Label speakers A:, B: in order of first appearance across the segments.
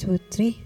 A: 2, 3.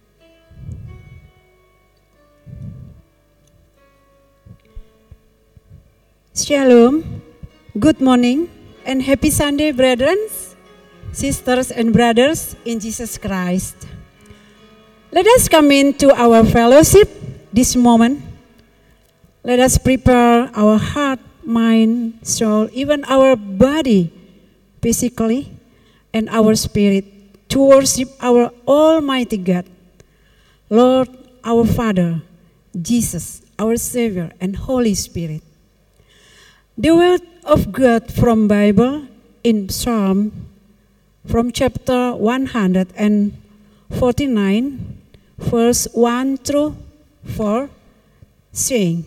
A: Shalom, good morning, and happy Sunday, brethren, sisters, and brothers in Jesus Christ. Let us come into our fellowship this moment. Let us prepare our heart, mind, soul, even our body, physically, and our spirit to worship our Almighty God, Lord, our Father, Jesus, our Savior, and Holy Spirit. The word of God from Bible in Psalm from chapter 149, verse 1 through 4, saying,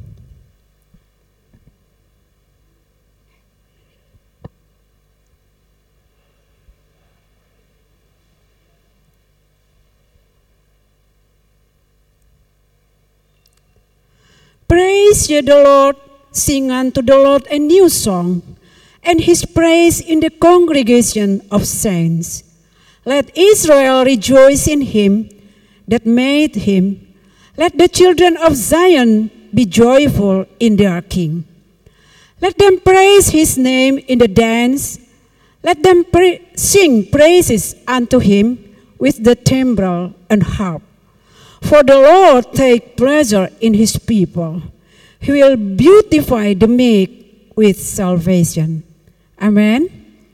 A: Praise ye the Lord, sing unto the Lord a new song, and his praise in the congregation of saints. Let Israel rejoice in him that made him. Let the children of Zion be joyful in their king. Let them praise his name in the dance. Let them sing praises unto him with the timbrel and harp. For the Lord take pleasure in his people. He will beautify the meek with salvation. Amen.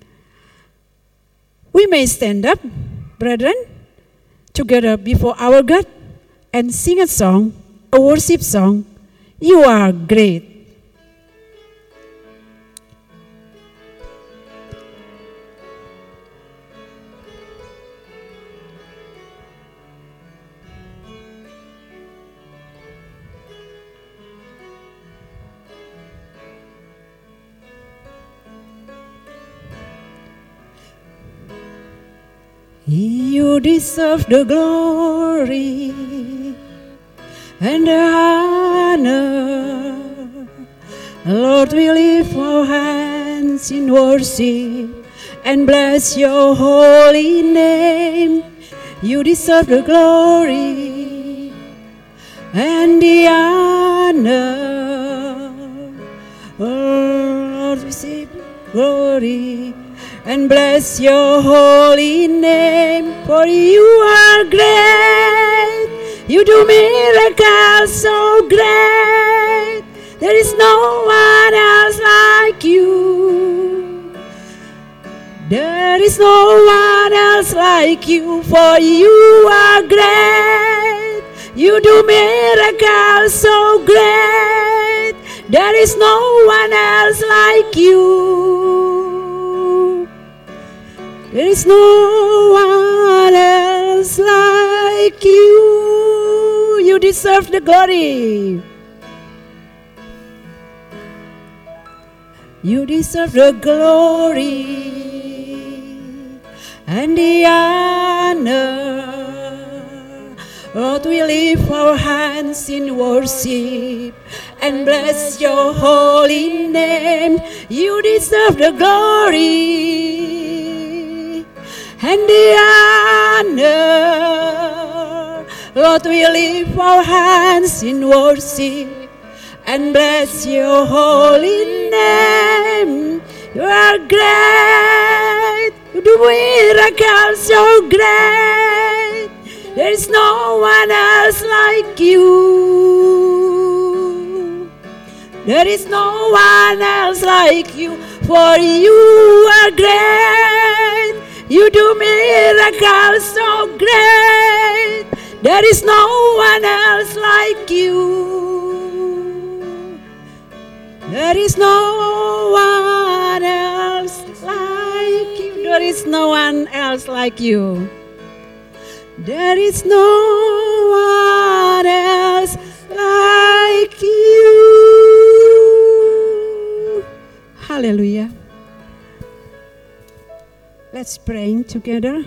A: We may stand up, brethren, together before our God and sing a song, a worship song. You are great. You deserve the glory and the honor. Lord, we lift our hands in worship and bless your holy name. You deserve the glory and the honor. Oh, Lord, receive glory and bless your holy name, for you are great. You do miracles so great. There is no one else like you. There is no one else like you, for you are great. You do miracles so great. There is no one else like you. There is no one else like you. You deserve the glory. You deserve the glory and the honor. Lord, we lift our hands in worship and bless your holy name. You deserve the glory and the honor. Lord, we lift our hands in worship and bless your holy name. You are great. You do miracles so great. There is no one else like you. There is no one else like you, for you are great. You do miracles so great. There is no one else like you. There is no one else like you. There is no one else like you. There is no one else like you. Hallelujah. Let's pray together.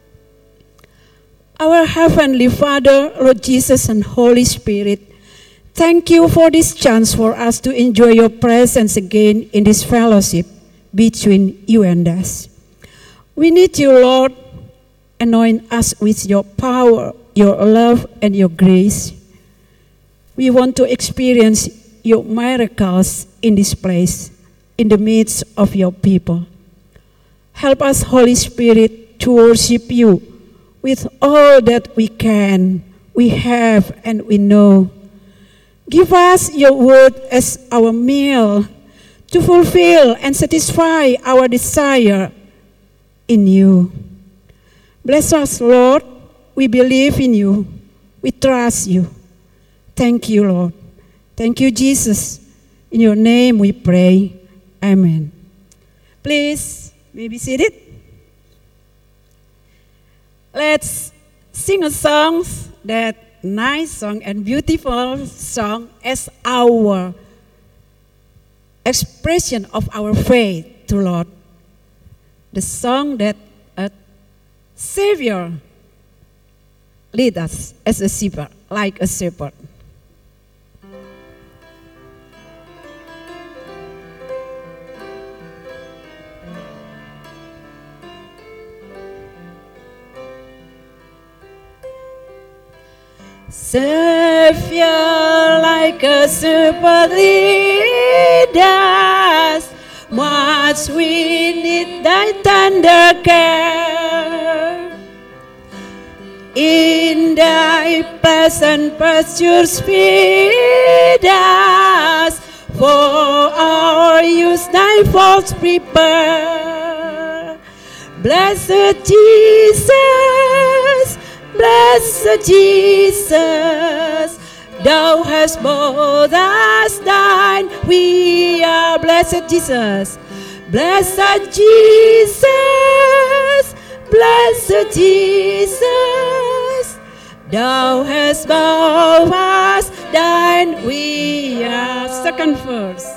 A: Our Heavenly Father, Lord Jesus and Holy Spirit, thank you for this chance for us to enjoy your presence again in this fellowship between you and us. We need you, Lord, anoint us with your power, your love, and your grace. We want to experience your miracles in this place, in the midst of your people. Help us, Holy Spirit, to worship you with all that we can, we have, and we know. Give us your word as our meal to fulfill and satisfy our desire in you. Bless us, Lord. We believe in you. We trust you. Thank you, Lord. Thank you, Jesus. In your name we pray. Amen. Please be seated. Let's sing a song, that nice song and beautiful song, as our expression of our faith to Lord. The song that a Savior lead us as a shepherd, like a shepherd. Savior, like a shepherd, lead us. Much we need thy tender care. In thy pleasant pastures feed us. For our use thy folds prepare. Blessed Jesus, blessed Jesus, thou hast bought us thine. We are blessed Jesus. Blessed Jesus, blessed Jesus, thou hast bought us thine. We are, second verse.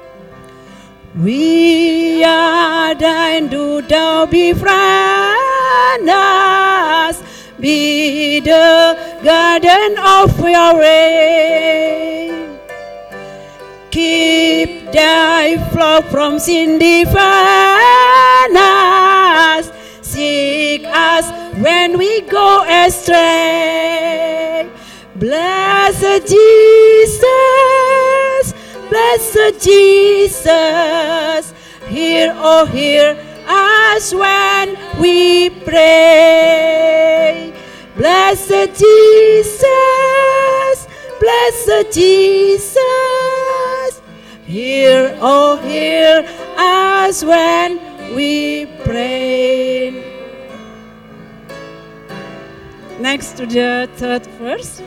A: We are thine, do thou befriend us. Be the garden of your reign. Keep thy flock from sin, defend us. Seek us when we go astray. Blessed Jesus, blessed Jesus, hear, oh hear us when we pray. Blessed Jesus, blessed Jesus, hear, oh hear us when we pray. Next to the third verse.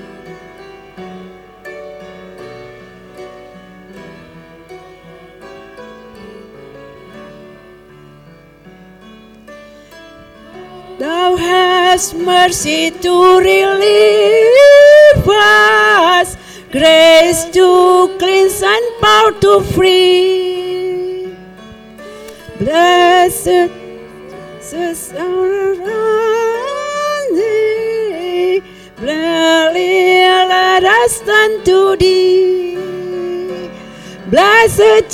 A: Thou hast mercy to relieve us, grace to cleanse and power to free. Blessed Jesus, our thee, gladly let us turn to thee. Blessed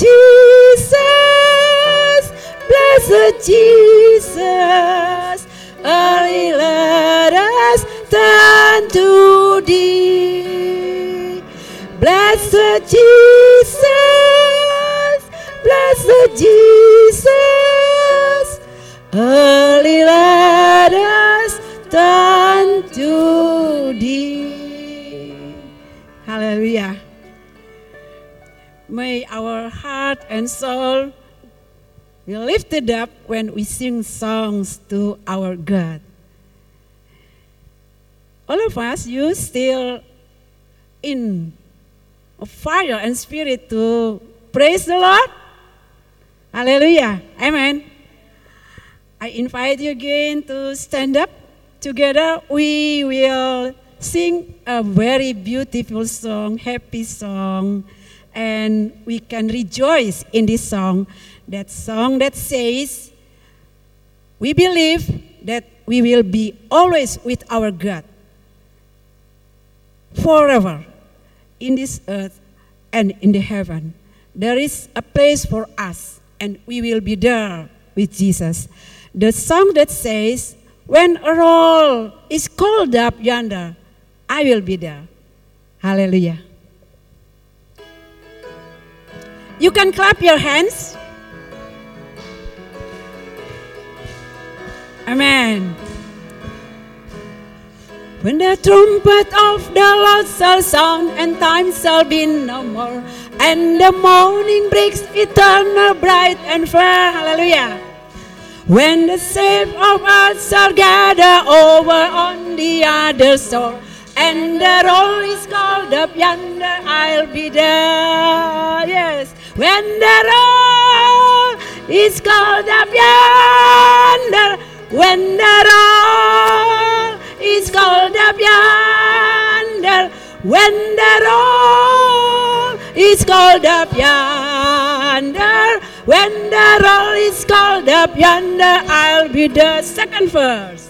A: Jesus, blessed Jesus, early let us turn to thee. Blessed Jesus, blessed Jesus, early let us turn to thee. Hallelujah. May our heart and soul be lifted up when we sing songs to our God. All of us, you still in fire and spirit to praise the Lord? Hallelujah. Amen. I invite you again to stand up. Together we will sing a very beautiful song, happy song, and we can rejoice in this song. That song that says, we believe that we will be always with our God, forever, in this earth and in the heaven. There is a place for us, and we will be there with Jesus. The song that says, When a roll is called up yonder, I will be there. Hallelujah. You can clap your hands. Amen. When the trumpet of the Lord shall sound, and time shall be no more, and the morning breaks eternal, bright and fair. Hallelujah. When the saints of earth shall gather over on the other shore, and the roll is called up yonder, I'll be there. Yes. When the roll is called up yonder, when the roll is called up yonder, when the roll is called up yonder, when the roll is called up yonder, I'll be the second verse.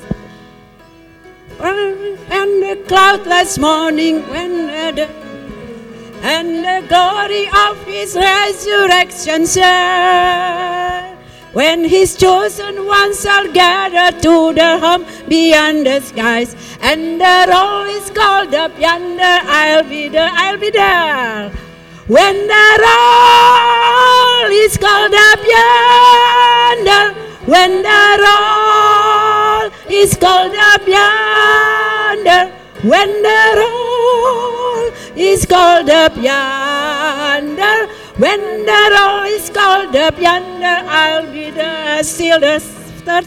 A: And the cloudless morning, and the glory of His resurrection share, when His chosen ones shall gather to the home beyond the skies, and the roll is called up yonder, I'll be there, I'll be there. When the roll is called up yonder, when the roll is called up yonder, when the roll is called up yonder, when the roll is called up yonder, I'll be there. Still the third.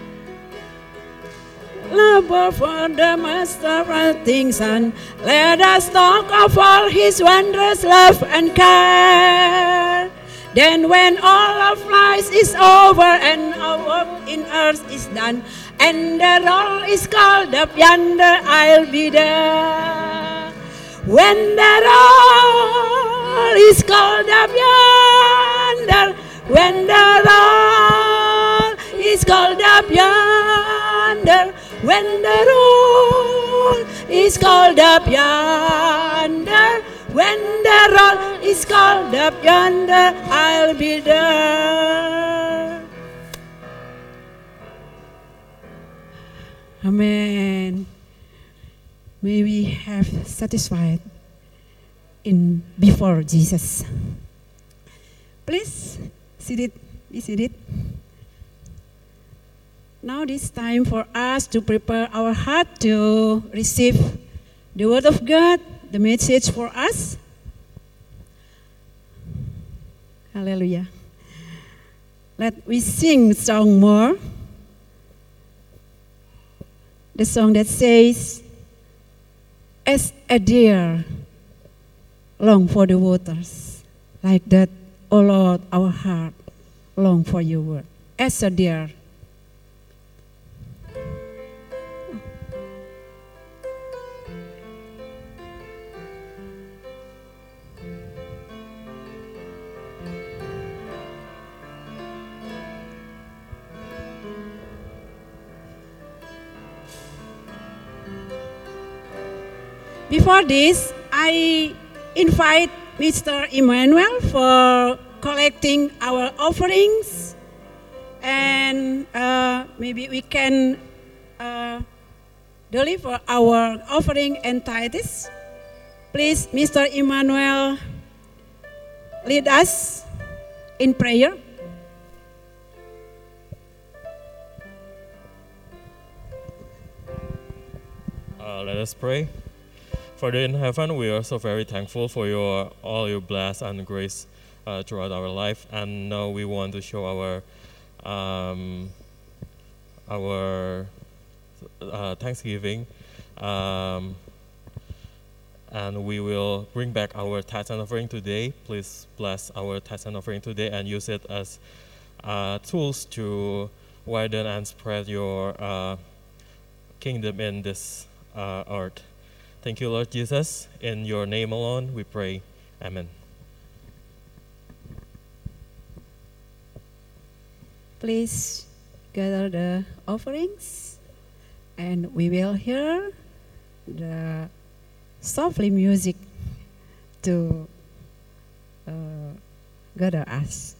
A: Labor for the Master of things, and let us talk of all His wondrous love and care. Then when all of life is over and our work in earth is done, and the roll is called up yonder, I'll be there. When the roll is called up yonder, when the roll is called up yonder, when the roll is called up yonder, when the roll is called up yonder, I'll be there. Amen. May we have satisfied in before Jesus. Please be seated. Now it's time for us to prepare our heart to receive the word of God, the message for us. Hallelujah. Let we sing song more. The song that says, as a deer long for the waters, like that, O Lord, our heart long for your word. As a deer. Before this, I invite Mr. Emmanuel for collecting our offerings, and maybe we can deliver our offering and tithes. Please, Mr. Emmanuel, lead us in prayer.
B: Let us pray. Father in heaven, we are so very thankful for all your bless and grace throughout our life, and now we want to show our thanksgiving, and we will bring back our tithes and offering today. Please bless our tithes and offering today and use it as tools to widen and spread your kingdom in this earth. Thank you, Lord Jesus. In your name alone we pray. Amen.
A: Please gather the offerings, and we will hear the softly music to gather us.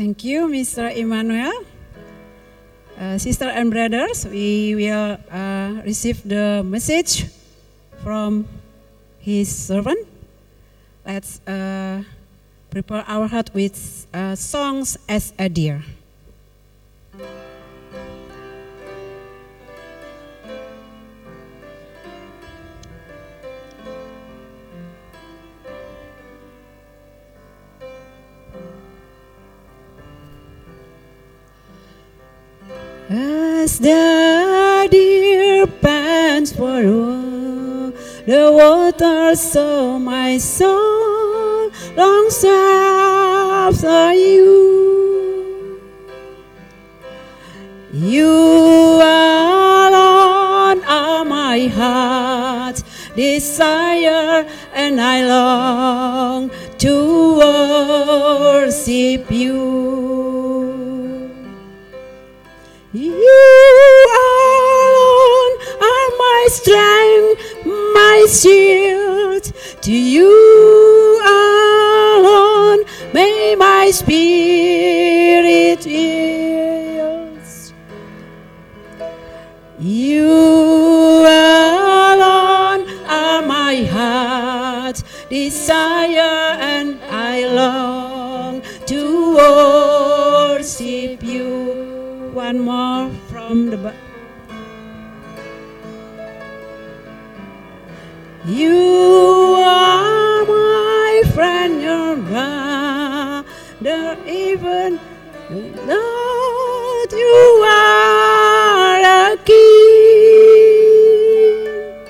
A: Thank you, Mr. Emmanuel. Sister and brothers, we will receive the message from his servant. Let's prepare our heart with songs as a deer. As the deer pants for the water, so my soul longs after you. You alone are my heart's desire, and I long to worship you. You alone are my strength, my shield. To you alone may my spirit yield. You alone are my heart's desire, and I long to worship you. One more from the You are my friend, your brother, even though you are a king.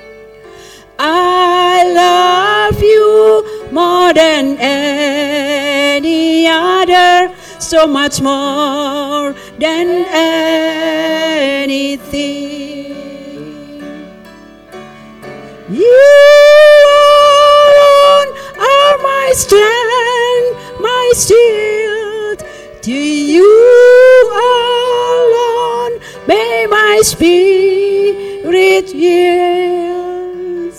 A: I love you more than any other, so much more than anything. You alone are my strength, my shield. To you alone may my spirit yield.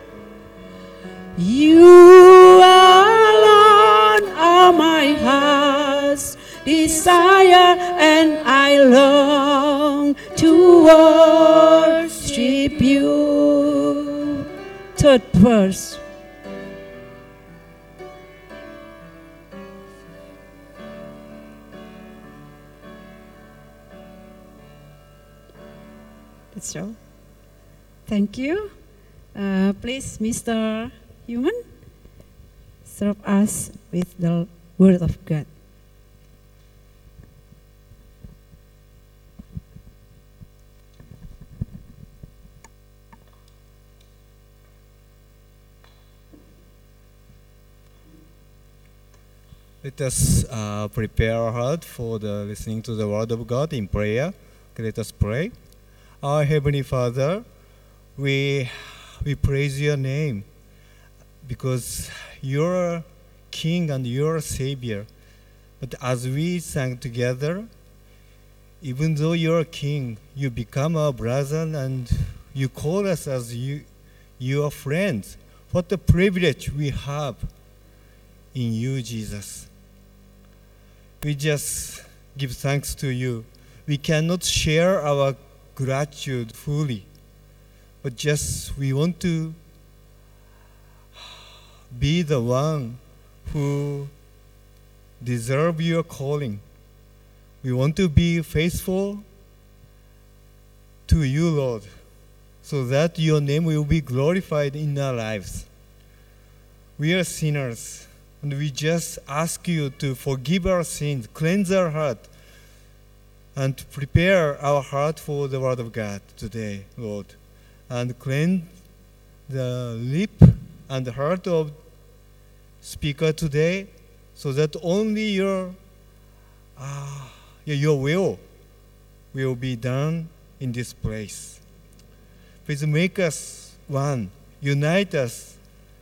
A: You alone are my heart's desire, and I long to worship you. Third verse. That's all. Thank you. Please, Mr. Human, serve us with the Word of God.
C: Let us prepare our heart for the listening to the Word of God in prayer. Okay, let us pray. Our Heavenly Father, we praise your name because you're King and you're Savior. But as we sang together, even though you're King, you become our brother and you call us as your friends. What a privilege we have in you, Jesus. We just give thanks to you. We cannot share our gratitude fully, but just we want to be the one who deserve your calling. We want to be faithful to you, Lord, so that your name will be glorified in our lives. We are sinners, and we just ask you to forgive our sins, cleanse our heart, and prepare our heart for the Word of God today, Lord. And cleanse the lip and the heart of speaker today, so that only your will be done in this place. Please make us one, unite us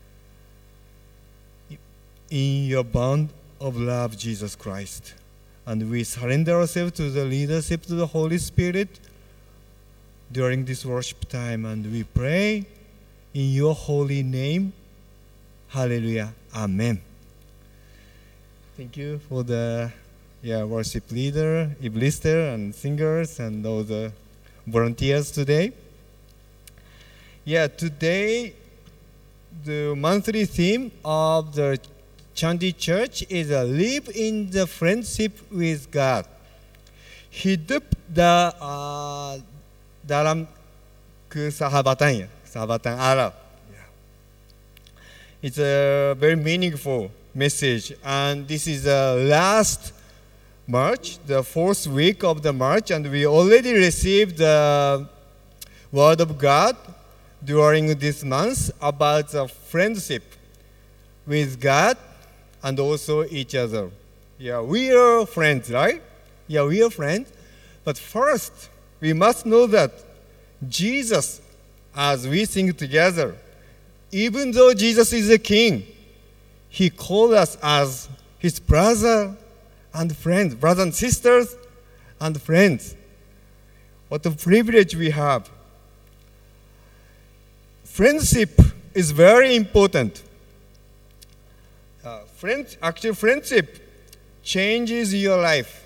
C: in your bond of love, Jesus Christ. And we surrender ourselves to the leadership of the Holy Spirit during this worship time. And we pray in your holy name. Hallelujah. Amen. Thank you for the worship leader, Iblister, and singers, and all the volunteers today. Today the monthly theme of the Chandi Church is live in the friendship with God. Hidup dalam kesahabatan, sahabatan Allah. It's a very meaningful message, and this is the last March, the fourth week of the March, and we already received the Word of God during this month about the friendship with God and also each other. We are friends, right? We are friends. But first, we must know that Jesus, as we sing together, even though Jesus is a king, he called us as his brother and friends, brothers and sisters and friends. What a privilege we have. Friendship is very important. Friendship changes your life.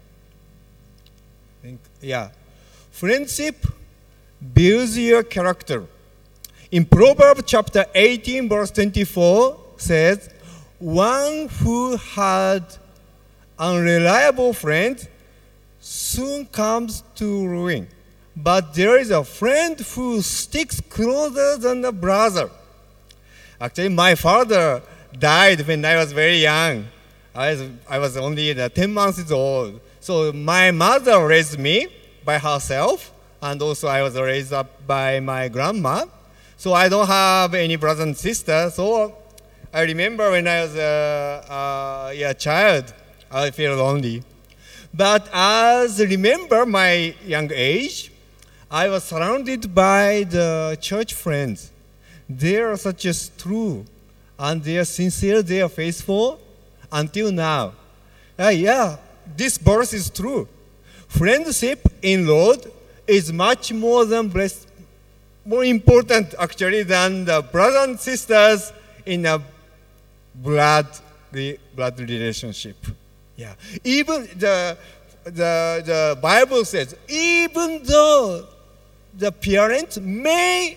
C: Friendship builds your character. In Proverbs chapter 18, verse 24 says, one who had unreliable friend soon comes to ruin. But there is a friend who sticks closer than a brother. Actually, my father died when I was very young. I was only 10 months old. So my mother raised me by herself, and also I was raised up by my grandma. So I don't have any brothers and sisters. So I remember when I was a child, I feel lonely. But as I remember my young age, I was surrounded by the church friends. They are such as true, and they are sincere, they are faithful until now. This verse is true. Friendship in Lord is much more important actually than the brothers and sisters in a blood relationship. Even the Bible says, even though the parents may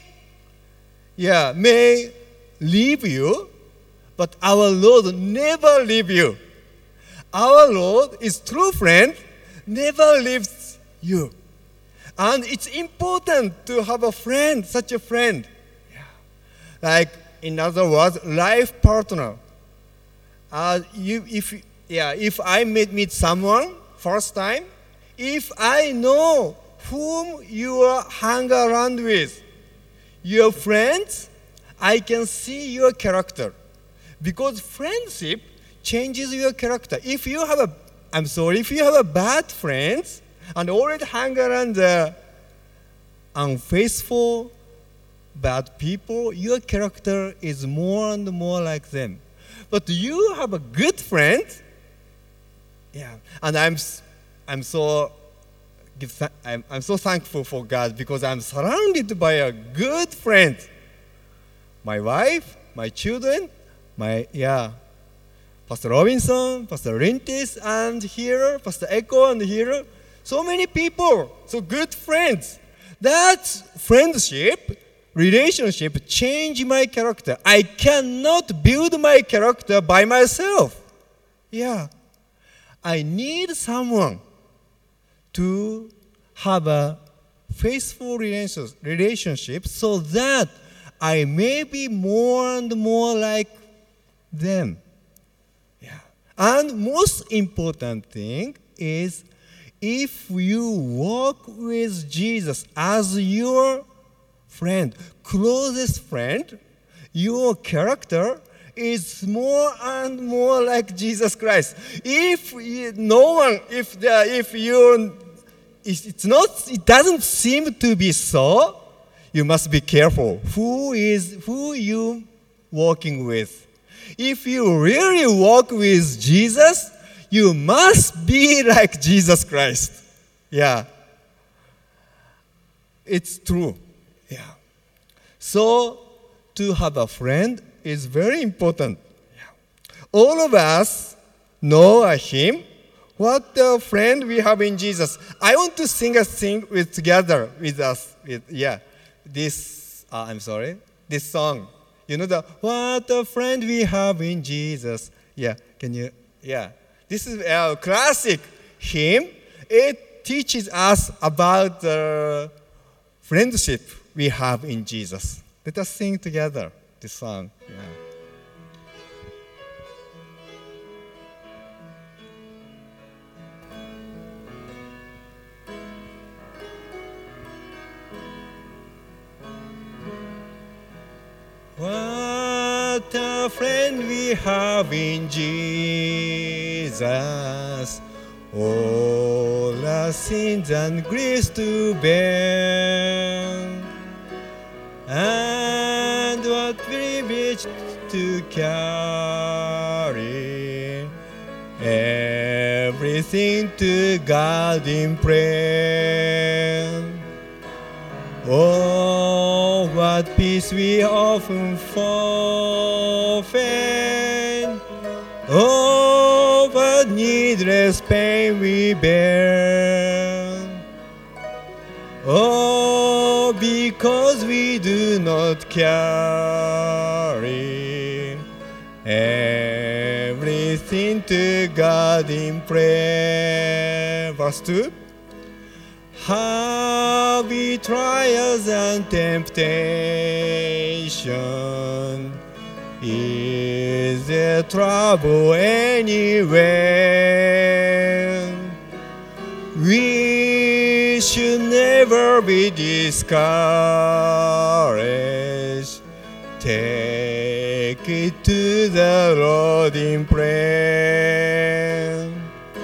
C: leave you, but our Lord never leave you. Our Lord is true friend, never leaves you. And it's important to have a friend, such a friend. Like, in other words, life partner. If I meet someone first time, if I know whom you hang around with, your friends, I can see your character. Because friendship changes your character. If you have a bad friends and already hang around the unfaithful, bad people, your character is more and more like them. But you have a good friend, and I'm so thankful for God because I'm surrounded by a good friend. My wife, my children, Pastor Robinson, Pastor Rintis, and here, Pastor Echo, and here, so many people, so good friends. That friendship, relationship, change my character. I cannot build my character by myself. I need someone to have a faithful relationship so that I may be more and more like them. And most important thing is if you walk with Jesus as your friend, closest friend, your character is more and more like Jesus Christ. It doesn't seem to be so, you must be careful who you walking with. If you really walk with Jesus, you must be like Jesus Christ. It's true. So, to have a friend is very important. All of us know him What the friend we have in Jesus. I want to sing a thing together with us. This song. You know what a friend we have in Jesus. Yeah, can you? Yeah, this is a classic hymn. It teaches us about the friendship we have in Jesus. Let us sing together this song. Yeah. What a friend we have in Jesus, all our sins and griefs to bear, and what privilege to carry everything to God in prayer. Oh, what peace we often forfeit. Oh, what needless pain we bear. Oh, because we do not carry everything to God in prayer. Verse 2. Heavy trials and temptation, is there trouble anywhere? We should never be discouraged. Take it to the Lord in prayer.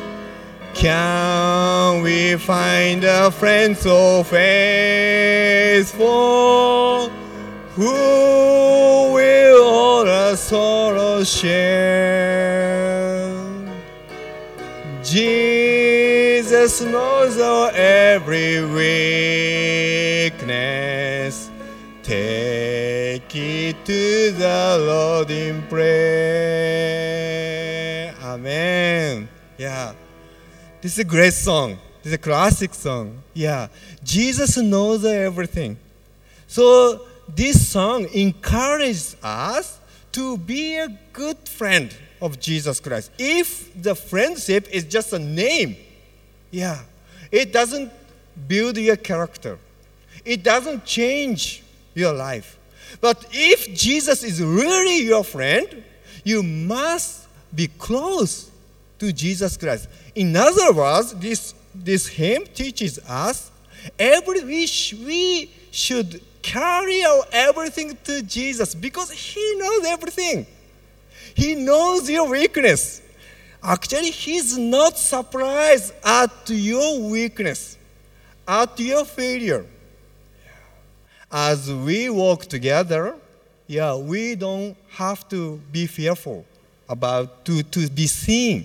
C: Can we find a friend so faithful, who will all our sorrows share? Jesus knows our every weakness. Take it to the Lord in prayer. Amen. Yeah. This is a great song. This is a classic song. Yeah. Jesus knows everything. So this song encourages us to be a good friend of Jesus Christ. If the friendship is just a name, it doesn't build your character. It doesn't change your life. But if Jesus is really your friend, you must be close to Jesus Christ. In other words, this hymn teaches us we should carry our everything to Jesus because He knows everything. He knows your weakness. Actually, He's not surprised at your weakness, at your failure. As we walk together, we don't have to be fearful about to be seen.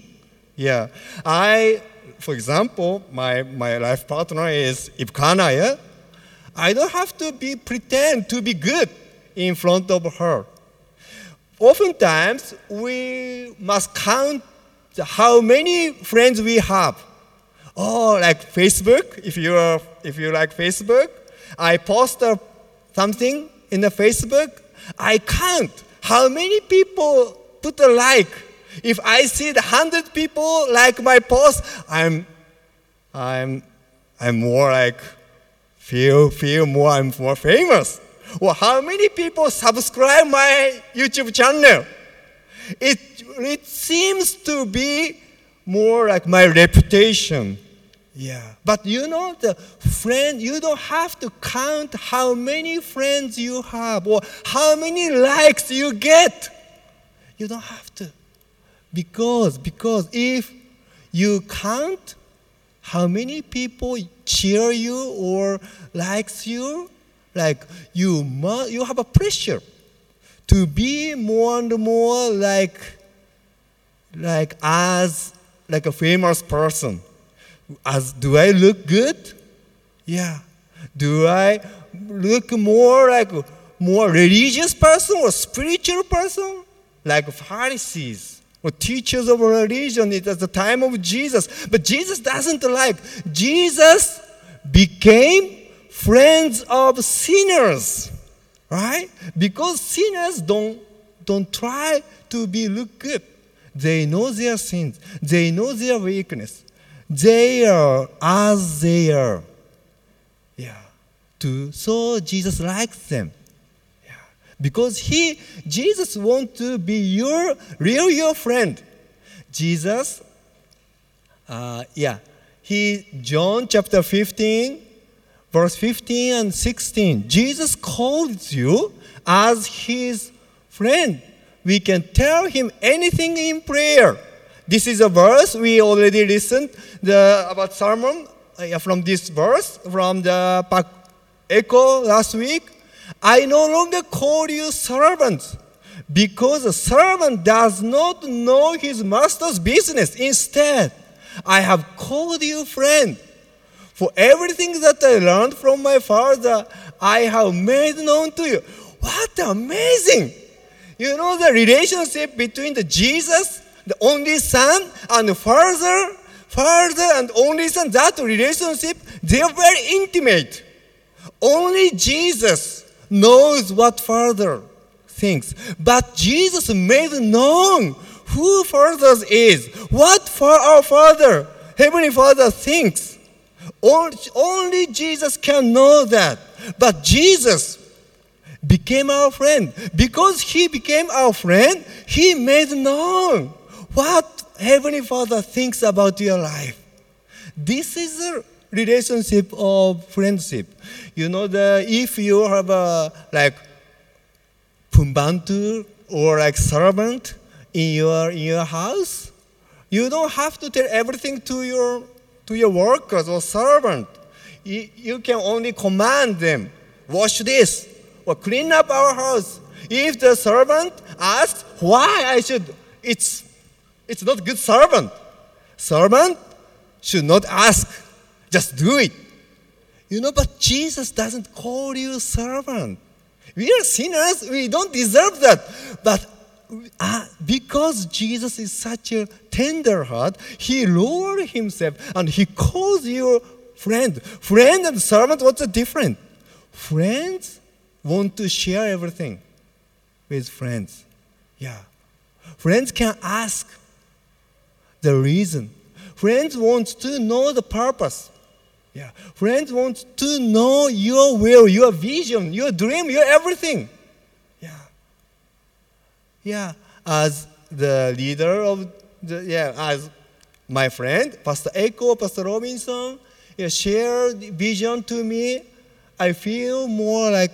C: For example, my life partner is Ipkana. I don't have to pretend to be good in front of her. Oftentimes, we must count how many friends we have. Oh, like Facebook. If you like Facebook, I post something in the Facebook. I count how many people put a like. If I see 100 people like my post, I'm more like feel more. I'm more famous. Or how many people subscribe my YouTube channel? It seems to be more like my reputation. But the friend, you don't have to count how many friends you have or how many likes you get. You don't have to. Because if you count how many people cheer you or likes you, like you have a pressure to be more and more like a famous person. Do I look good? Do I look more like a more religious person or spiritual person? Like Pharisees. or teachers of religion. It was the time of Jesus. But Jesus doesn't like. Jesus became friends of sinners, right? Because sinners don't try to look good. They know their sins. They know their weakness. They are as they are. Yeah. So Jesus likes them. Yeah. Because Jesus wants to be your friend. Jesus, John chapter 15, verse 15 and 16. Jesus calls you as his friend. We can tell him anything in prayer. This is a verse we already listened about sermon from this verse from the Pak Echo last week. I no longer call you servants because a servant does not know his master's business. Instead, I have called you friend. For everything that I learned from my Father, I have made known to you. What amazing! You know the relationship between the Jesus, the only Son, and the Father and only Son, that relationship, they are very intimate. Only Jesus knows what Father thinks. But Jesus made known who Father is, what our Father, Heavenly Father thinks. Only Jesus can know that. But Jesus became our friend. Because he became our friend, he made known what Heavenly Father thinks about your life. This is a relationship of friendship. You know, if you have a pembantu or servant in your house, you don't have to tell everything to your workers or servant. You can only command them, wash this or clean up our house. If the servant asks why I should, it's not good servant. Servant should not ask, just do it. You know, but Jesus doesn't call you servant. We are sinners, we don't deserve that. But because Jesus is such a tender heart, he lowered himself and he calls you friend. Friend and servant, what's the difference? Friends want to share everything with friends. Yeah. Friends can ask the reason. Friends want to know the purpose. Yeah. Friends want to know your will, your vision, your dream, your everything. Yeah. Yeah. As the leader of as my friend, Pastor Echo, Pastor Robinson, shared vision to me, I feel more like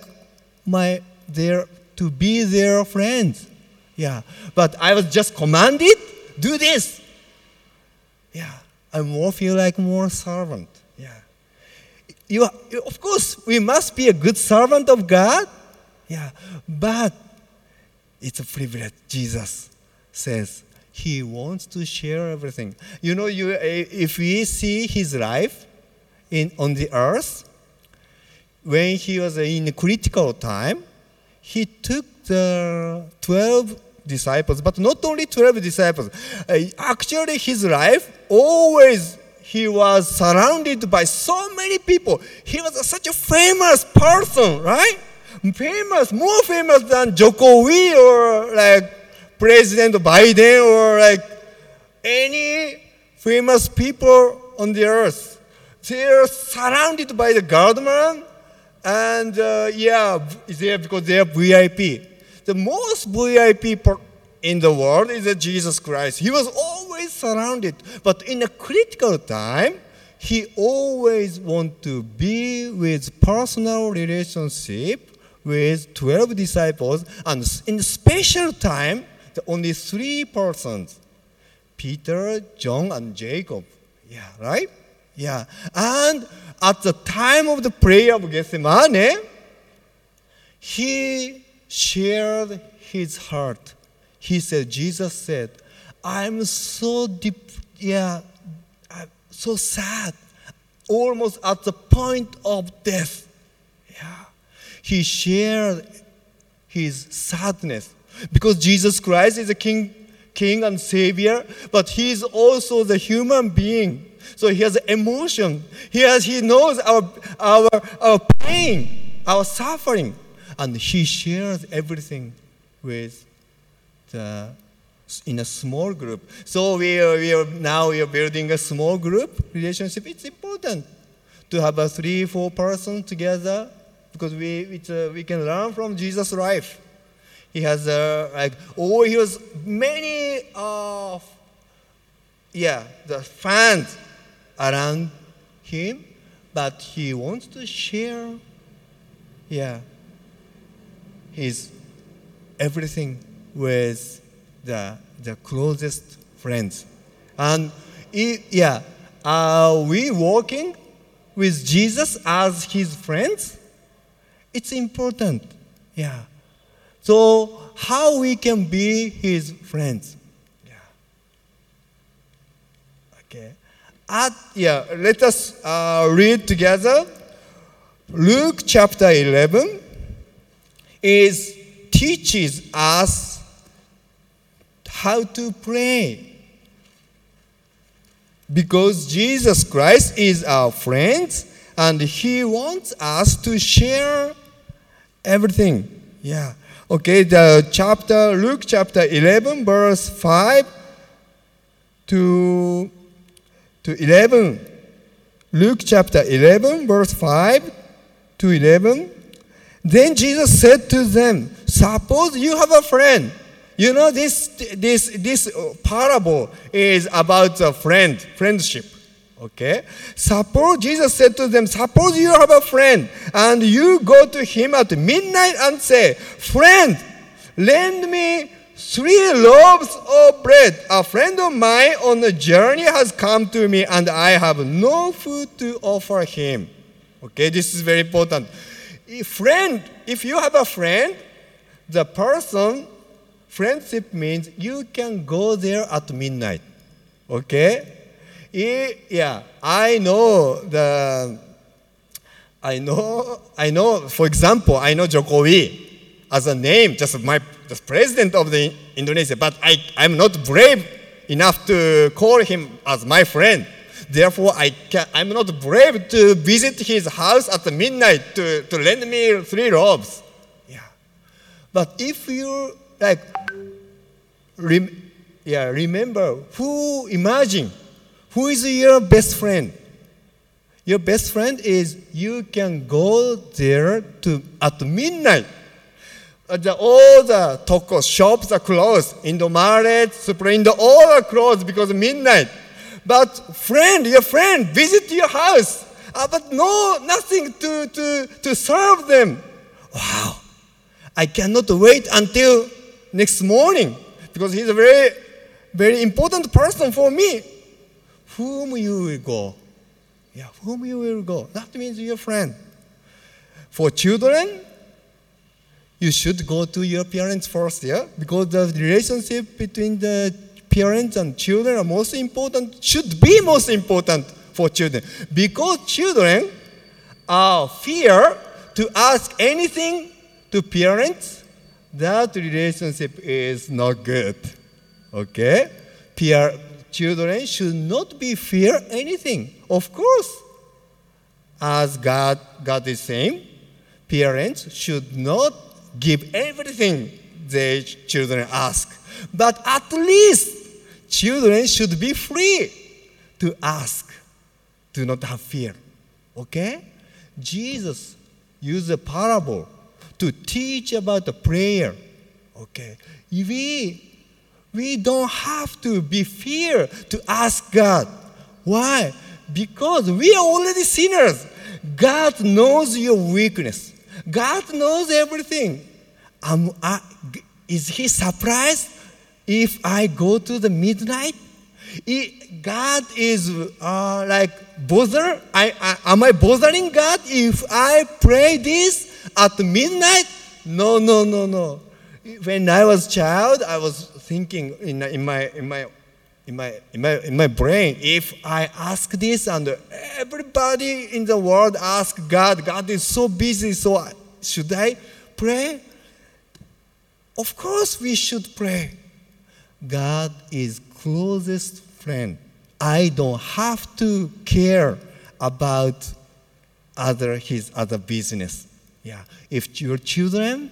C: to be their friends. Yeah. But I was just commanded, do this. Yeah. I feel like more servant. Yeah. Of course, we must be a good servant of God. Yeah. But it's a privilege. Jesus says he wants to share everything. You know, if we see his life on the earth, when he was in a critical time, he took the 12 disciples, but not only 12 disciples. Actually, his life, always he was surrounded by so many people. He was such a famous person, right? More famous than Jokowi or President Biden or any famous people on the earth. They are surrounded by the government. And because they are VIP. The most VIP in the world is Jesus Christ. He was always surrounded. But in a critical time, he always wanted to be with personal relationship with 12 disciples. And in a special time, only 3 persons, Peter, John, and Jacob. Yeah, right? Yeah. And at the time of the prayer of Gethsemane, he shared his heart. Jesus said, I'm so deep, I'm so sad, almost at the point of death. Yeah. He shared his sadness because Jesus Christ is a King king and savior, but he's also the human being. So he has emotion. He knows our pain, our suffering, and he shares everything with in a small group. So we are building a small group relationship. It's important to have a 3-4 person together because we can learn from Jesus' life. He has he was many the fans around him, but he wants to share his everything with the closest friends. And are we walking with Jesus as his friends? It's important. So how we can be his friends? Okay. Let us read together. Luke chapter 11 teaches us how to pray. Because Jesus Christ is our friend and he wants us to share everything. Okay, Luke chapter 11, verse 5 to 11. Luke chapter 11, verse 5 to 11. Then Jesus said to them, suppose you have a friend. You know, this parable is about friendship. Okay? Jesus said to them, suppose you have a friend and you go to him at midnight and say, friend, lend me 3 loaves of bread. A friend of mine on a journey has come to me and I have no food to offer him. Okay, this is very important. If you have a friend, friendship means you can go there at midnight. Okay? I know, for example, I know Jokowi as a name, just the president of the Indonesia, but I'm not brave enough to call him as my friend. Therefore, I'm not brave to visit his house at midnight to lend me 3 loaves. But if you remember, imagine who is your best friend? Your best friend is you can go there at midnight. All the toko shops are closed. Indomaret, Superindo, all are closed because of midnight. But your friend visit your house, but nothing to serve them. Wow, I cannot wait until next morning because he's a very, very important person for me. Whom you will go? Whom you will go? That means your friend. For children, you should go to your parents first, because the relationship between the parents and children should be most important for children. Because children fear to ask anything to parents, that relationship is not good. Okay? Children should not be fear anything. Of course, as God is saying, parents should not give everything their children ask. But at least children should be free to ask, to not have fear. Okay? Jesus used a parable to teach about the prayer. Okay? We don't have to be fear to ask God. Why? Because we are already sinners. God knows your weakness. God knows everything. Is he surprised if I go to the midnight? God is bother? Am I bothering God if I pray this at midnight? No. When I was a child, I was thinking in my brain, if I ask this and everybody in the world ask God is so busy, so should I pray? Of course we should pray. God is closest friend. I don't have to care about his other business. Yeah. If your children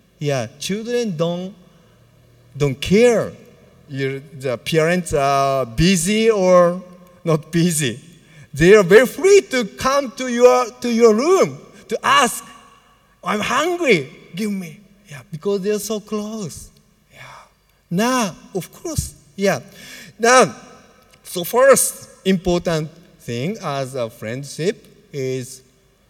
C: don't care the parents are busy or not busy. They are very free to come to your room to ask, I'm hungry, give me. Yeah, because they are so close. Yeah. Now, of course, yeah. Now, so first important thing as a friendship is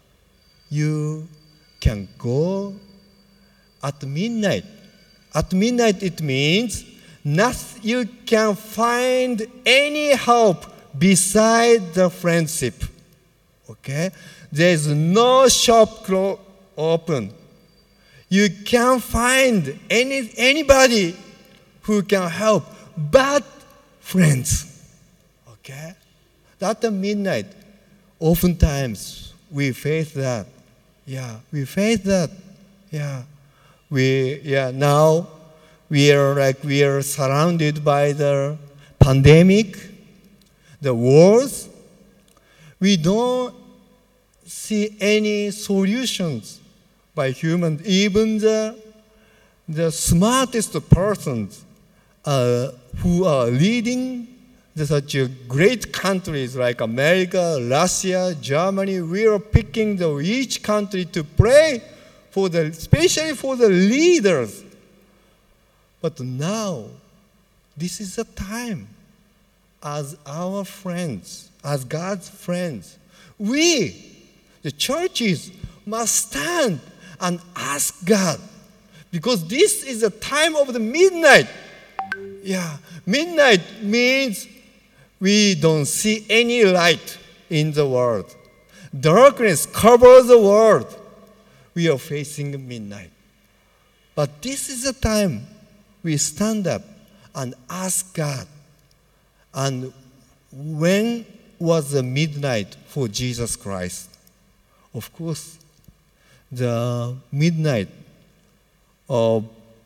C: you can go at midnight. At midnight it means you can find any help beside the friendship. Okay? There is no shop open. You can't find anybody who can help but friends. Okay? At the midnight, oftentimes we face that. Yeah, we face that. Yeah. Now we are surrounded by the pandemic, the wars. We don't see any solutions by humans. Even the smartest persons who are leading such great countries like America, Russia, Germany, we are picking each country to pray especially for the leaders. But now, this is the time as our friends, as God's friends, we, the churches, must stand and ask God. Because this is the time of the midnight. Yeah, midnight means we don't see any light in the world. Darkness covers the world. We are facing midnight. But this is the time we stand up and ask God. And when was the midnight for Jesus Christ? Of course, the midnight of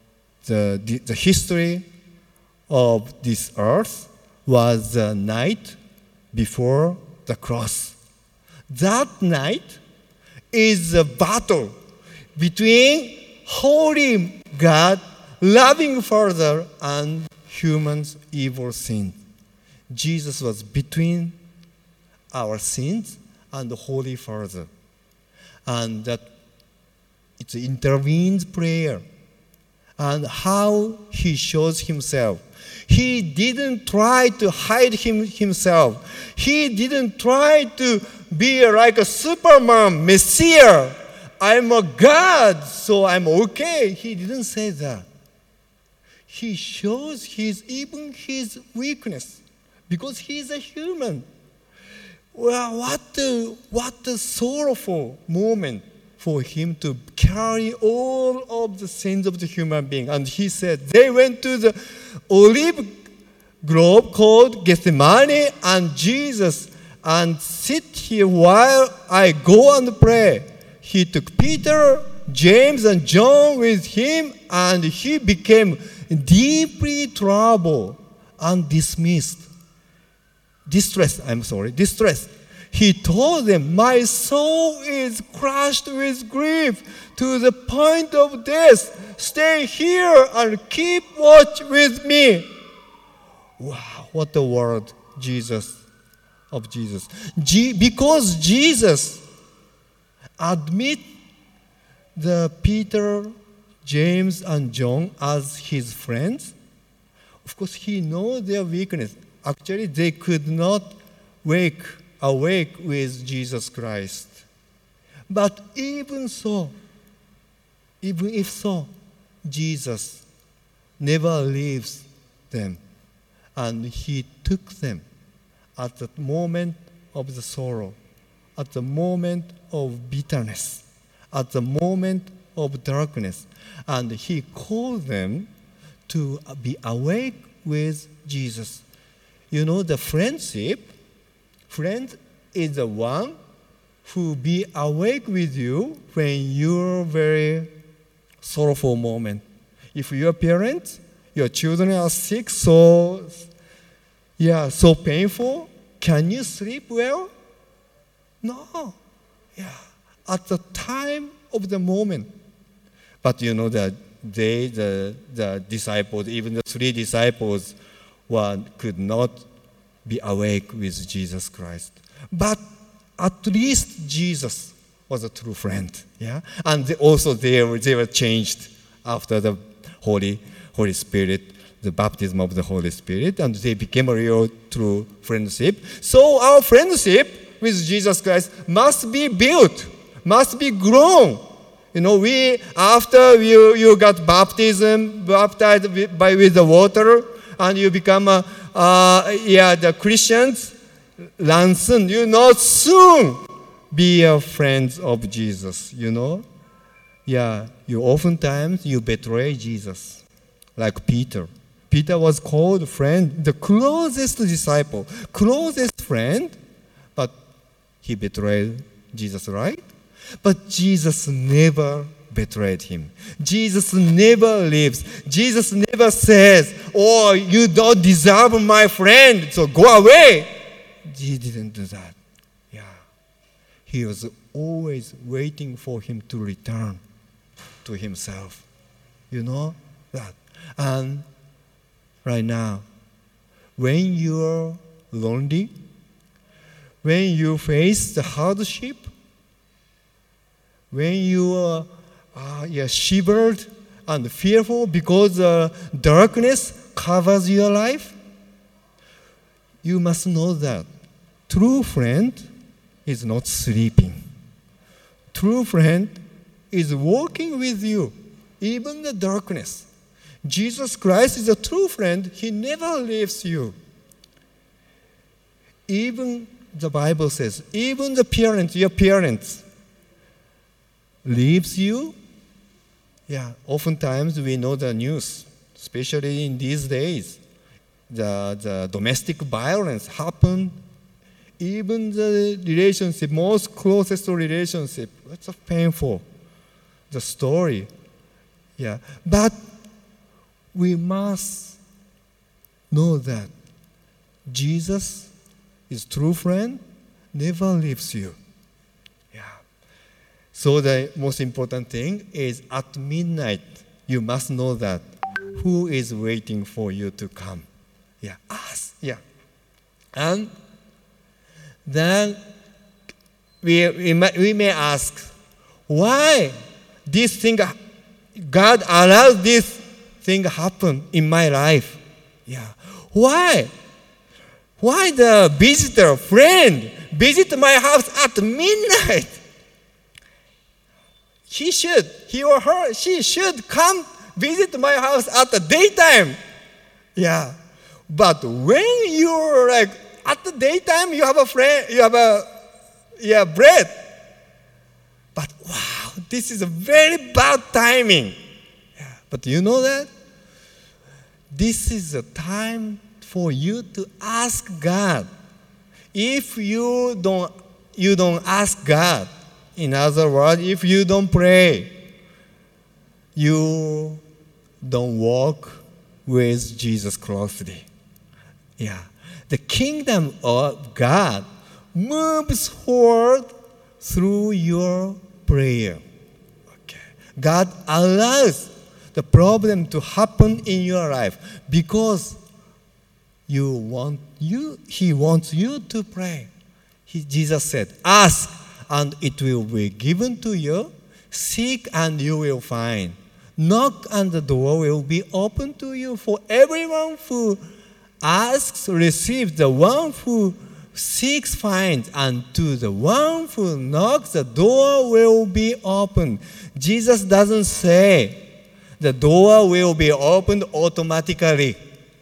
C: the history of this earth was the night before the cross. That night is a battle between holy God, loving Father, and humans' evil sin. Jesus was between our sins and the Holy Father. And that it intervenes prayer. And how he shows himself. He didn't try to hide himself. He didn't try to be like a Superman, Messiah. I'm a God, so I'm okay. He didn't say that. He shows even his weakness because he's a human. Well, what a sorrowful moment for him to carry all of the sins of the human being. And he said, they went to the olive grove called Gethsemane, and Jesus, and sit here while I go and pray. He took Peter, James, and John with him, and he became deeply troubled and distressed. He told them, my soul is crushed with grief to the point of death. Stay here and keep watch with me. Wow, what a word of Jesus. Because Jesus admit the Peter, James, and John as his friends, of course he knows their weakness. Actually, they could not awake with Jesus Christ. But even if so, Jesus never leaves them. And he took them at the moment of the sorrow, at the moment of bitterness, at the moment of darkness. And he called them to be awake with Jesus. You know, the friend is the one who be awake with you when you're very sorrowful moment. If you're a parent, your children are sick, so painful. Can you sleep well? No. Yeah. At the time of the moment. But the disciples, even the 3 disciples, could not be awake with Jesus Christ. But at least Jesus was a true friend. Yeah. And they were changed after the Holy Spirit, the baptism of the Holy Spirit, and they became a real true friendship. So our friendship with Jesus Christ must be built, must be grown. After you got baptized with the water, and you become the Christians, soon be a friend of Jesus. You oftentimes you betray Jesus, like Peter. Peter was called friend, the closest disciple, closest friend, but he betrayed Jesus, right? But Jesus never betrayed him. Jesus never leaves. Jesus never says, "Oh, you don't deserve my friend, so go away." He didn't do that. Yeah. He was always waiting for him to return to himself. You know that. And right now, when you're lonely, when you face the hardship, when you are shivered and fearful because darkness covers your life, you must know that true friend is not sleeping. True friend is walking with you, even the darkness. Jesus Christ is a true friend. He never leaves you. Even the Bible says, even the parents, your parents, leaves you. Yeah, oftentimes we know the news, especially in these days. The domestic violence happen. Even the relationship, most closest relationship, it's painful. The story. Yeah, but we must know that Jesus is true friend, never leaves you. Yeah. So the most important thing is at midnight, you must know that who is waiting for you to come. Yeah, us. Yeah. And then we may ask, why this thing, God allows this thing happen in my life? Yeah. Why? Why the visitor, friend, visit my house at midnight? He or her, she should come visit my house at the daytime. Yeah. But when you're like, at the daytime, you have a friend, you have bread. But wow, this is a very bad timing. Yeah. But you know that? This is a time for you to ask God. If you don't ask God, in other words, if you don't pray, you don't walk with Jesus closely. Yeah. The kingdom of God moves forward through your prayer. Okay. God allows the problem to happen in your life because He wants you to pray. Jesus said, ask and it will be given to you. Seek and you will find. Knock and the door will be open to you. For everyone who asks, receives. The one who seeks, finds. And to the one who knocks, the door will be opened. Jesus doesn't say the door will be opened automatically.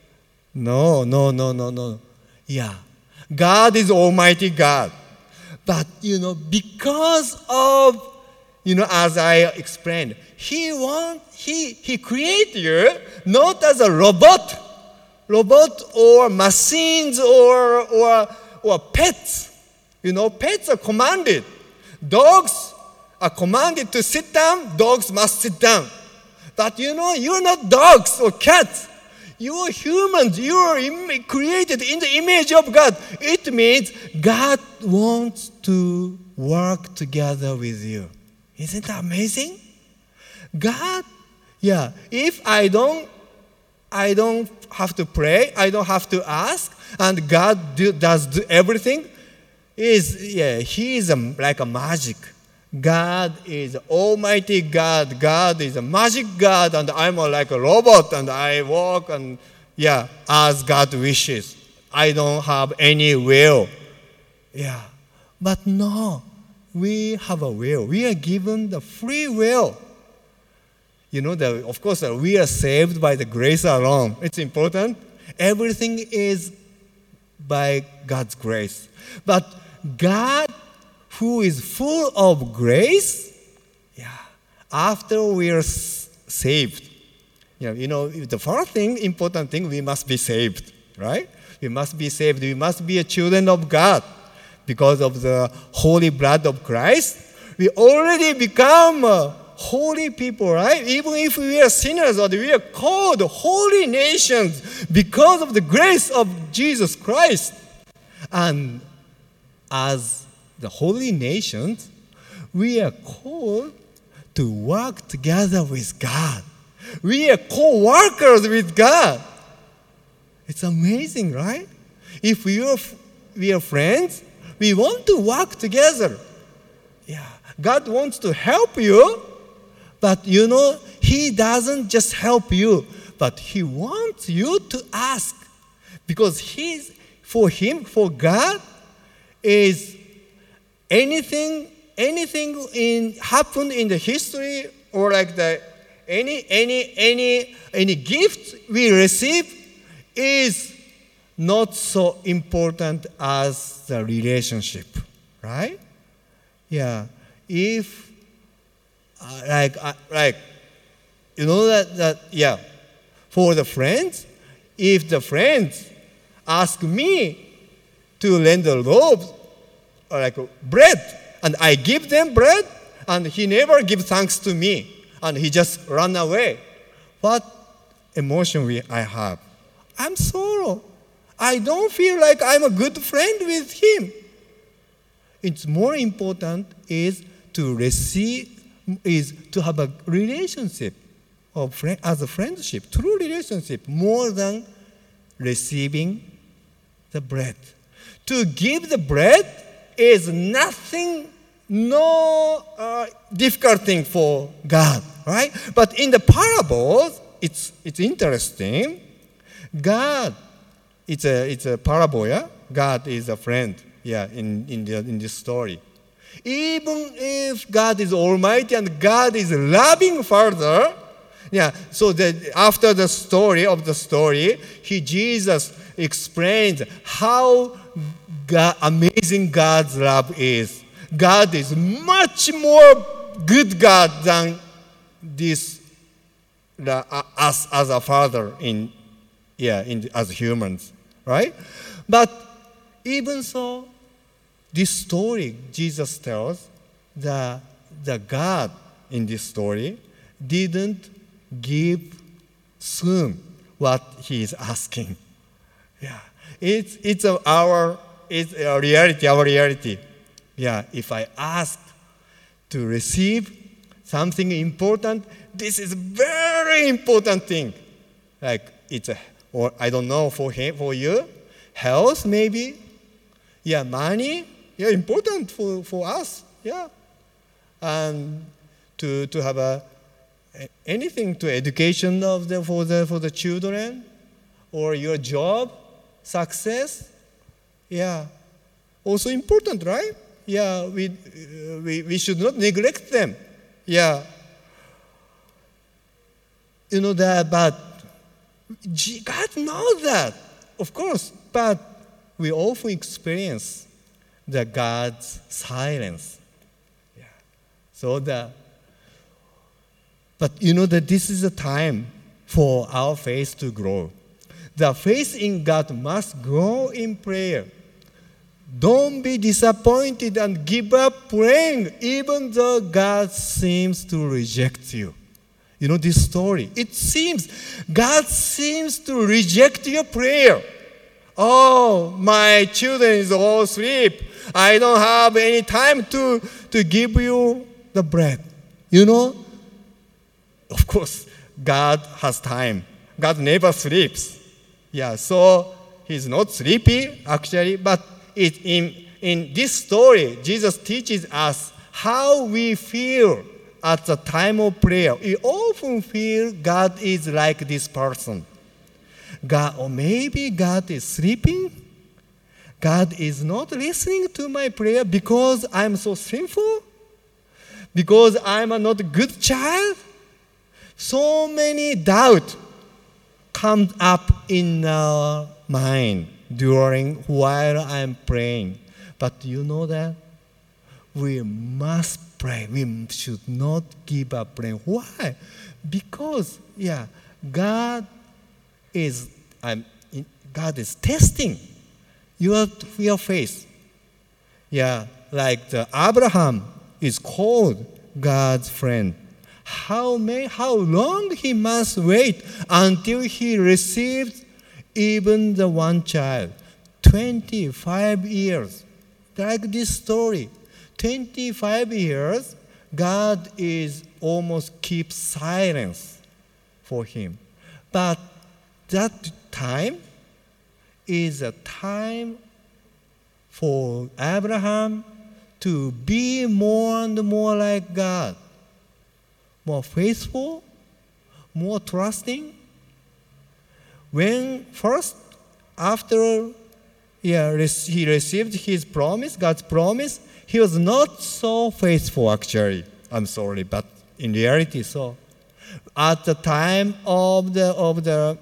C: No. Yeah. God is Almighty God. But, because of, as I explained, He created you not as a robot or machines or pets. Pets are commanded. Dogs are commanded to sit down. Dogs must sit down. But you're not dogs or cats. You are humans. You are created in the image of God. It means God wants to work together with you. Isn't that amazing? God, if I don't have to pray, I don't have to ask, and God does everything. He is like a magic. God is Almighty God. God is a magic God, and I'm like a robot, and I walk and as God wishes. I don't have any will. But no, we have a will. We are given the free will. Of course, we are saved by the grace alone. It's important. Everything is by God's grace. But God, who is full of grace, after we are saved, the first important thing, we must be saved, right? We must be saved. We must be a children of God. Because of the holy blood of Christ, we already become holy people, right? Even if we are sinners or we are called holy nations because of the grace of Jesus Christ. And as the holy nations, we are called to work together with God. We are co-workers with God. It's amazing, right? If we are friends, we want to work together. God wants to help you, but He doesn't just help you, but He wants you to ask. Because for God, is anything happened in the history, or like any gift we receive is not so important as the relationship, right? If for the friends, if the friends ask me to lend a loaf or like bread, and I give them bread, and he never gives thanks to me, and he just run away, what emotion I have? I'm sorrow. I don't feel like I'm a good friend with him. It's more important is to have a relationship as a friendship, true relationship, more than receiving the bread. To give the bread is nothing, no difficult thing for God, right? But in the parables, it's interesting. God, it's a parable, God is a friend, in this story. Even if God is Almighty and God is loving Father, so that after the story, Jesus explains how amazing God's love is. God is much more good God than us as a father as humans, right? But even so, this story Jesus tells, the God in this story didn't give soon what he is asking. It's our reality. If I ask to receive something important, this is very important thing. Like or I don't know, for you, health maybe, money, important for us, and to have anything to education for the children, or your job, success, also important, right? We should not neglect them. That, but God knows that, of course, but we often experience the God's silence. But that this is a time for our faith to grow. The faith in God must grow in prayer. Don't be disappointed and give up praying, even though God seems to reject you. You know this story. It seems God seems to reject your prayer. Oh, my children is all asleep. I don't have any time to give you the bread. You know, of course, God has time. God never sleeps. Yeah, so he's not sleepy actually, but in this story, Jesus teaches us how we feel at the time of prayer. We often feel God is like this person. God, or maybe God is sleeping. God is not listening to my prayer because I'm so sinful, because I'm not a good child. So many doubts come up in our mind while I'm praying. But you know that we must pray. We should not give up praying. Why? Because God is testing your faith. Yeah, like Abraham is called God's friend. How long he must wait until he received even the one child? 25 years. Like this story. 25 years, God is almost keeps silence for him. But that time is a time for Abraham to be more and more like God. More faithful, more trusting. When first, after he received his promise, God's promise, he was not so faithful actually. I'm sorry, but in reality so. At the time of the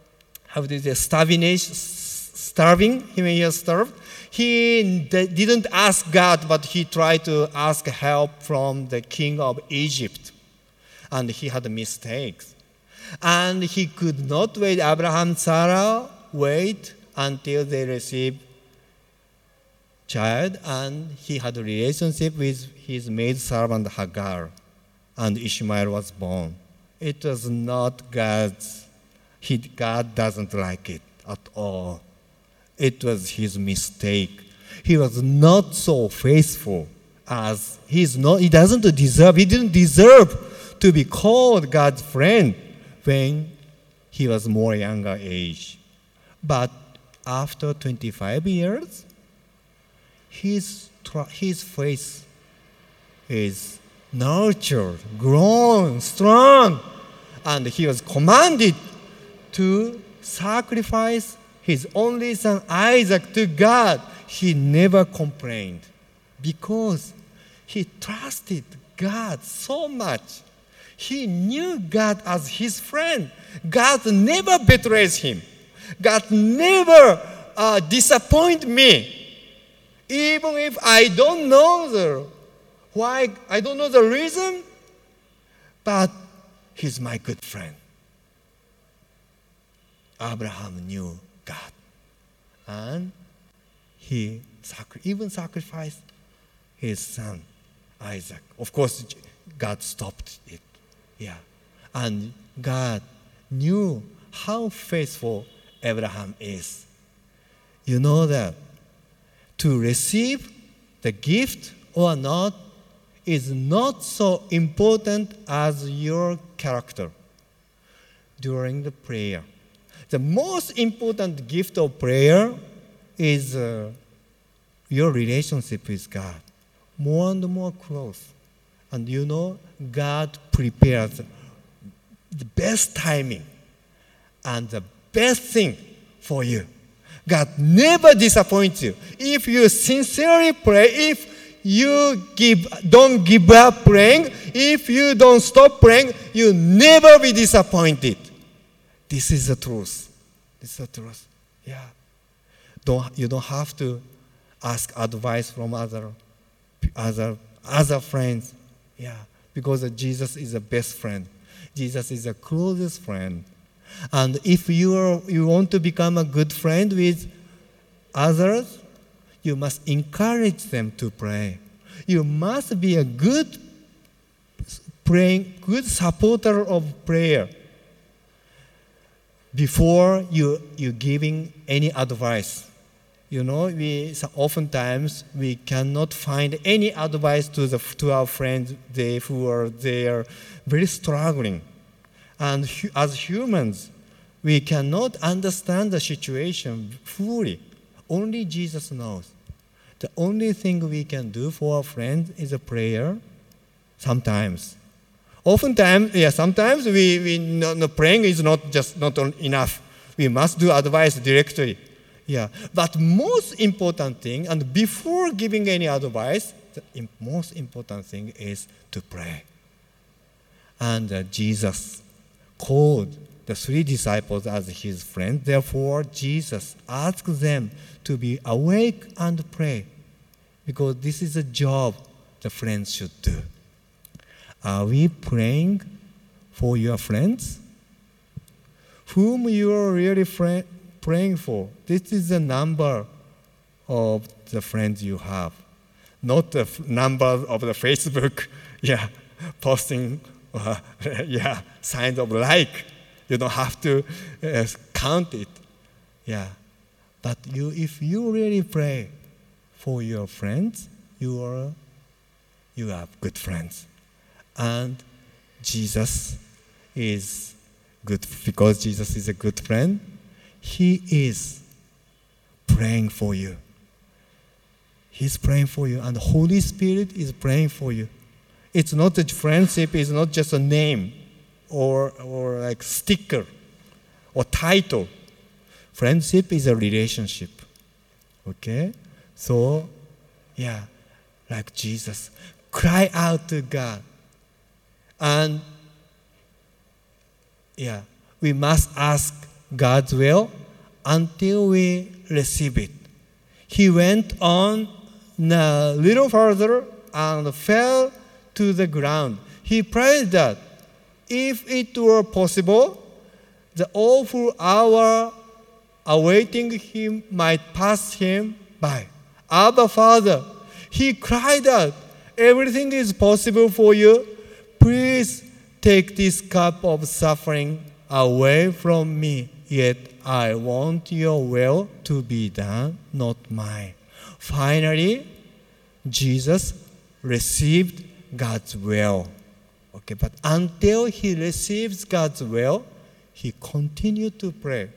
C: starving, when he was starved, he didn't ask God, but he tried to ask help from the king of Egypt. And he had mistakes. And he could not wait. Abraham and Sarah wait until they received child, and he had a relationship with his maidservant Hagar, and Ishmael was born. It was not God's. God doesn't like it at all. It was his mistake. He was not so faithful as he didn't deserve to be called God's friend when he was more younger age. But after 25 years, his faith is nurtured, grown, strong, and he was commanded to sacrifice his only son Isaac to God. He never complained because he trusted God so much. He knew God as his friend. God never betrays him. God never disappoints me. Even if I don't know why, I don't know the reason, but he's my good friend. Abraham knew God, and he even sacrificed his son Isaac. Of course, God stopped it. Yeah, and God knew how faithful Abraham is. You know that to receive the gift or not is not so important as your character during the prayer. The most important gift of prayer is your relationship with God. More and more close. And you know, God prepares the best timing and the best thing for you. God never disappoints you. If you sincerely pray, if you don't give up praying, if you don't stop praying, you'll never be disappointed. This is the truth. This is the truth. Yeah. You don't have to ask advice from other friends. Yeah. Because Jesus is the best friend. Jesus is the closest friend. And if you want to become a good friend with others, you must encourage them to pray. You must be a good good supporter of prayer before you giving any advice. Oftentimes we cannot find any advice to our friends who are there very struggling. And as humans, we cannot understand the situation fully. Only Jesus knows. The only thing we can do for our friends is a prayer. Sometimes. Sometimes praying is not enough. We must do advice directly. But most important thing, and before giving any advice, the most important thing is to pray. And Jesus called the 3 disciples as his friends. Therefore, Jesus asked them to be awake and pray, because this is a job the friends should do. Are we praying for your friends? Whom you are really praying for? This is the number of the friends you have, not the number of the Facebook, posting, signs of like. You don't have to count it. But if you really pray for your friends, you have good friends. And Jesus is good, because Jesus is a good friend. He is praying for you. He's praying for you, and the Holy Spirit is praying for you. It's not a friendship, it's not just a name or like sticker or title. Friendship is a relationship. Okay? So, like Jesus, cry out to God. And, we must ask God's will until we receive it. He went on a little further and fell to the ground. He prayed that if it were possible, the awful hour awaiting him might pass him by. Abba, Father, he cried out, everything is possible for you. Please take this cup of suffering away from me. Yet I want your will to be done, not mine. Finally, Jesus received God's will. Okay, but until he receives God's will, he continued to pray.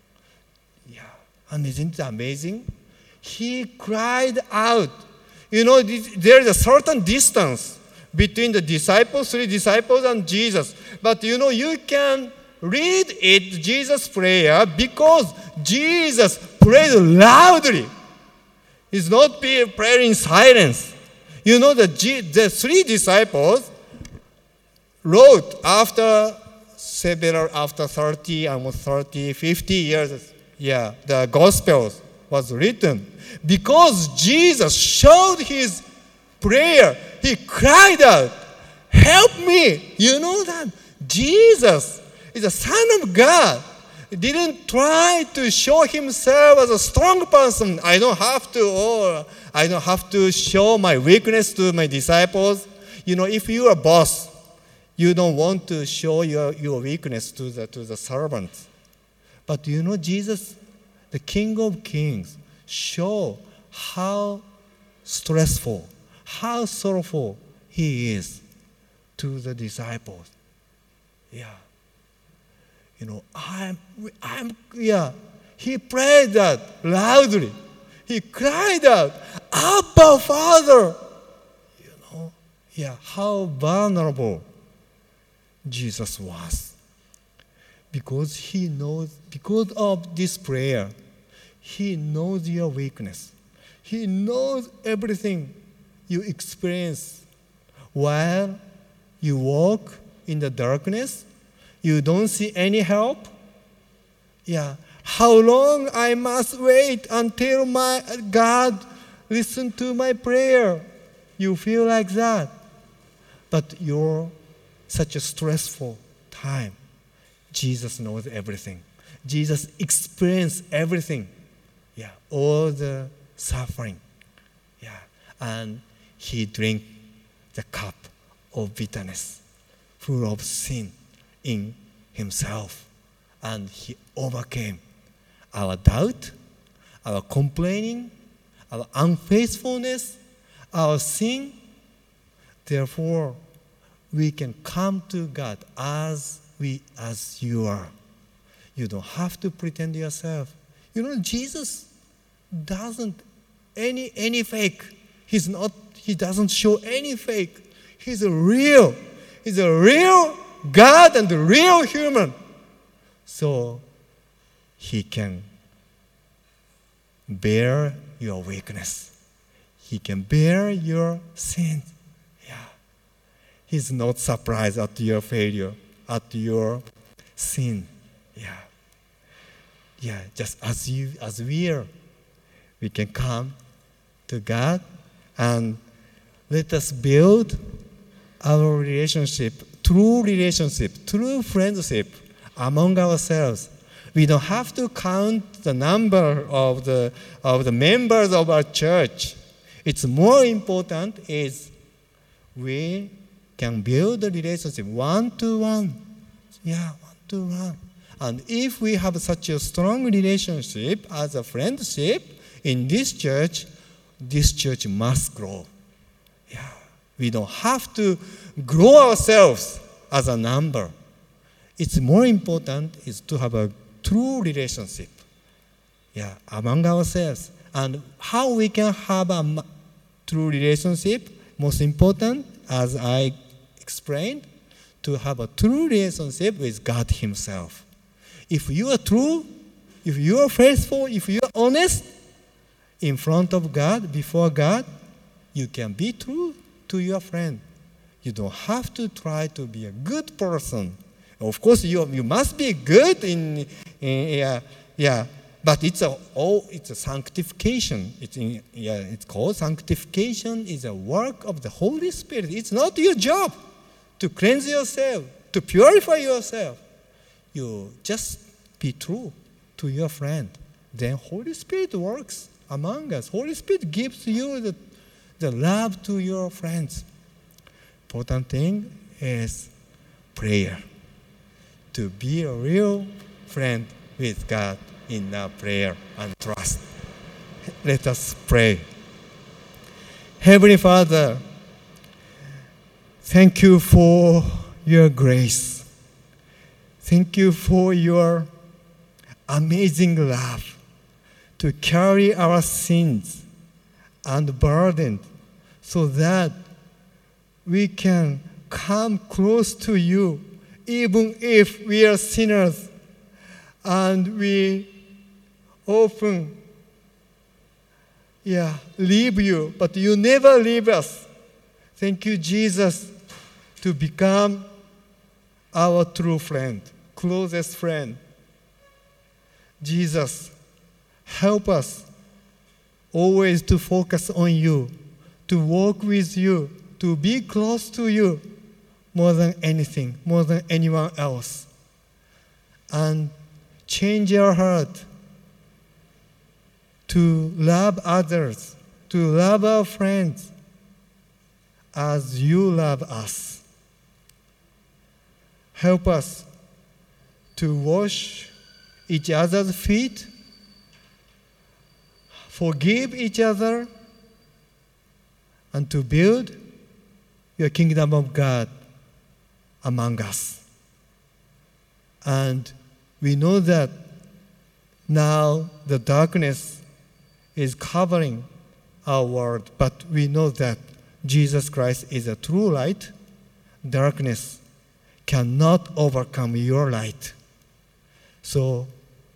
C: And isn't it amazing? He cried out. There is a certain distance between the disciples, 3 disciples, and Jesus. But you can read it, Jesus' prayer, because Jesus prayed loudly. He's not praying in silence. The 3 disciples wrote after 30, almost 30, 50 years, the Gospels was written. Because Jesus showed his prayer, he cried out, help me. You know that Jesus is the Son of God. He didn't try to show himself as a strong person. I don't have to show my weakness to my disciples. If you are a boss, you don't want to show your weakness to the servants. But Jesus, the King of Kings, show how stressful, how sorrowful he is to the disciples. He prayed that loudly. He cried out, Abba, Father. How vulnerable Jesus was. Because because of this prayer, he knows your weakness. He knows everything you experience while you walk in the darkness. You don't see any help. How long I must wait until my God listen to my prayer. You feel like that. But you're such a stressful time. Jesus knows everything. Jesus experienced everything. All the suffering. And he drank the cup of bitterness. full of sin in himself. And he overcame our doubt, our complaining, our unfaithfulness, our sin. Therefore, we can come to God as you are. You don't have to pretend yourself. Jesus doesn't any fake. He doesn't show any fake. He's a real God and a real human. So he can bear your weakness. He can bear your sin. Yeah. He's not surprised at your failure, at your sin. Yeah. Yeah, just as we are, we can come to God and let us build our true friendship among ourselves. We don't have to count the number of the members of our church. It's more important is we can build a relationship one-to-one. Yeah, one-to-one. And if we have such a strong relationship as a friendship in this church must grow. Yeah. We don't have to grow ourselves as a number. It's more important is to have a true relationship, among ourselves. And how we can have a true relationship, most important, as I explained, to have a true relationship with God himself. If you are true, if you are faithful, if you are honest, in front of God, before God, you can be true to your friend. You don't have to try to be a good person. Of course, you must be good but it's a sanctification. It's called sanctification. Is a work of the Holy Spirit. It's not your job to cleanse yourself, to purify yourself. You just be true to your friend. Then Holy Spirit works among us. Holy Spirit gives you the love to your friends. Important thing is prayer. To be a real friend with God in our prayer and trust. Let us pray. Heavenly Father, thank you for your grace. Thank you for your amazing love to carry our sins and burden so that we can come close to you even if we are sinners and we often leave you, but you never leave us. Thank you, Jesus, to become our true friend, closest friend. Jesus, help us always to focus on you, to walk with you, to be close to you more than anything, more than anyone else. And change our heart to love others, to love our friends as you love us. Help us to wash each other's feet, forgive each other, and to build your kingdom of God among us. And we know that now the darkness is covering our world, but we know that Jesus Christ is a true light. Darkness cannot overcome your light. So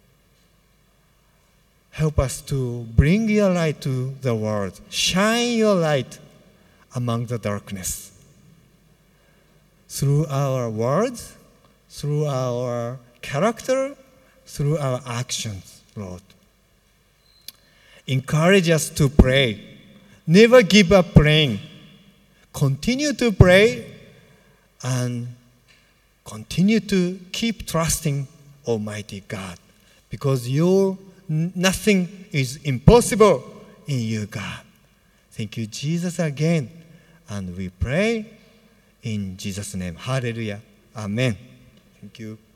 C: help us to bring your light to the world. Shine your light among the darkness. Through our words, through our character, through our actions, Lord. Encourage us to pray. Never give up praying. Continue to pray and continue to keep trusting Almighty God, because nothing is impossible in you, God. Thank you, Jesus, again. And we pray In Jesus' name. Hallelujah. Amen. Thank you.